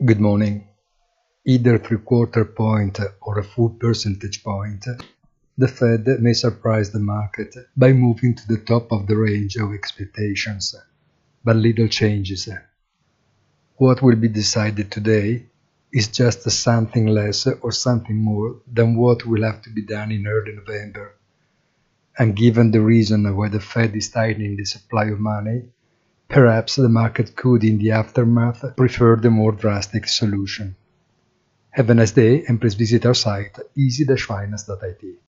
Good morning. Either 3/4 point or a full percentage point, the Fed may surprise the market by moving to the top of the range of expectations, but little changes. What will be decided today is just something less or something more than what will have to be done in early November. And given the reason why the Fed is tightening the supply of money, perhaps the market could, in the aftermath, prefer the more drastic solution. Have a nice day and please visit our site easy-finance.it.